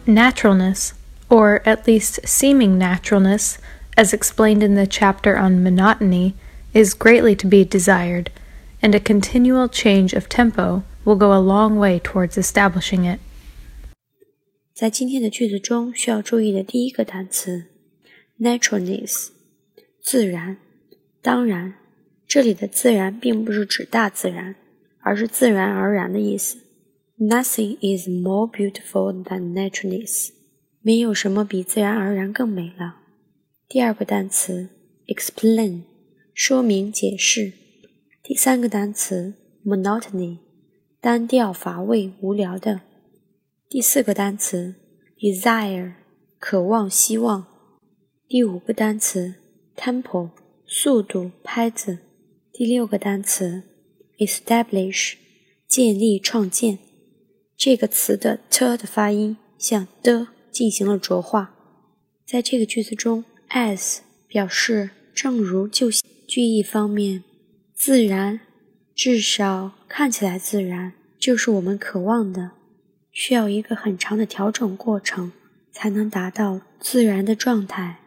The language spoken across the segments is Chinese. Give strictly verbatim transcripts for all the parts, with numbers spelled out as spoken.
Naturalness, or at least seeming naturalness, as explained in the chapter on monotony, is greatly to be desired, and a continual change of tempo will go a long way towards establishing it. 在今天的句子中，需要注意的第一个单词 naturalness， 自然。当然，这里的自然并不是指大自然，而是自然而然的意思。Nothing is more beautiful than naturalness. 没有什么比自然而然更美了。第二个单词 explain， 说明解释。第三个单词 monotony， 单调乏味无聊的。第四个单词 desire， 渴望希望。第五个单词 tempo， 速度拍子。第六个单词 establish， 建立创建。这个词的 t 的发音向的进行了浊化。在这个句子中 as 表示正如就句意方面，自然至少看起来自然就是我们渴望的，需要一个很长的调整过程才能达到自然的状态。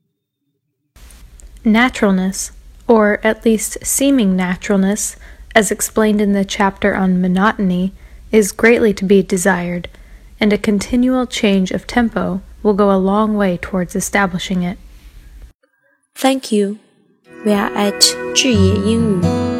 Naturalness, or at least seeming naturalness, as explained in the chapter on monotony, is greatly to be desired, and a continual change of tempo will go a long way towards establishing it. Thank you. We are at 智野英语